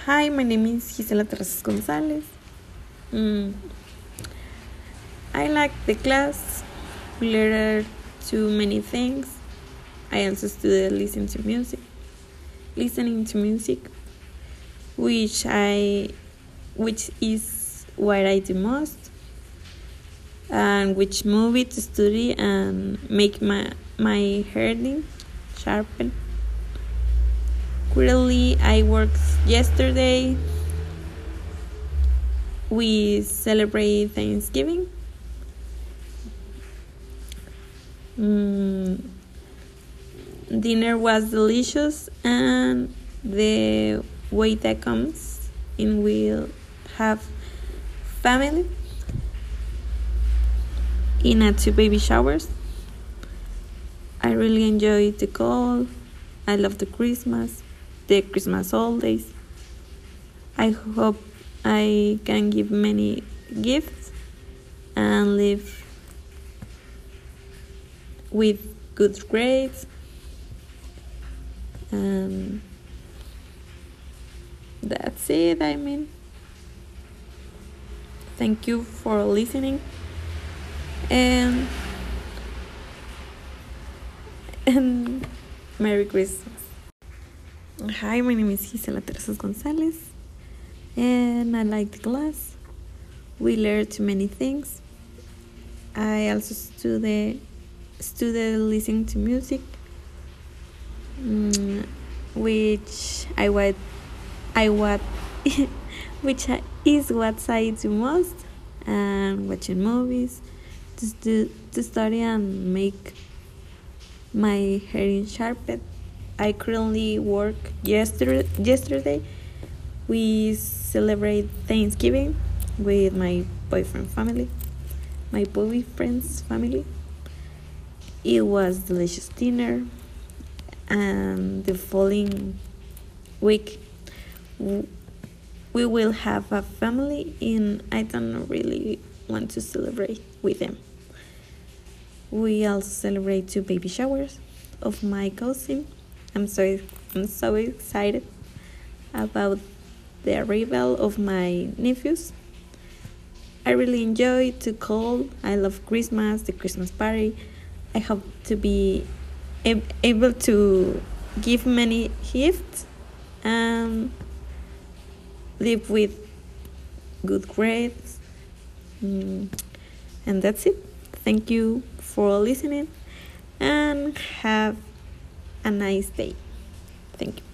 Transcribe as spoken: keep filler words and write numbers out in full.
Hi, my name is Gisela Terrazas Gonzalez. Mm, I like the class. We learned too many things. I also studied listening to music, listening to music, which I, which is what I do most, and which movie to study and make my my hearing sharpen. Currently, I worked yesterday. We celebrate Thanksgiving. Mm, dinner was delicious, and the way that comes in will have family in a two baby showers. I really enjoyed the call. I love the Christmas, the Christmas holidays. I hope I can give many gifts and live with good grades. And that's it, I mean. Thank you for listening. And, and Merry Christmas. Hi, my name is Gisela Terrazas Gonzalez, and I like the class. We learned too many things. I also studied, studied listening to music, um, which I what I what which is what I do most, and watching movies to stu- to study and make my hearing sharpened. I currently work yesterday. Yesterday, we celebrate Thanksgiving with my boyfriend family, my boyfriend's family. It was delicious dinner, and the following week we will have a family, and I don't really want to celebrate with them. We also celebrate two baby showers of my cousin. I'm so I'm so excited about the arrival of my nephews. I really enjoy to call. I love Christmas, the Christmas party. I hope to be ab- able to give many gifts and live with good grades. Mm, and that's it. Thank you for listening, and have a nice day. Thank you.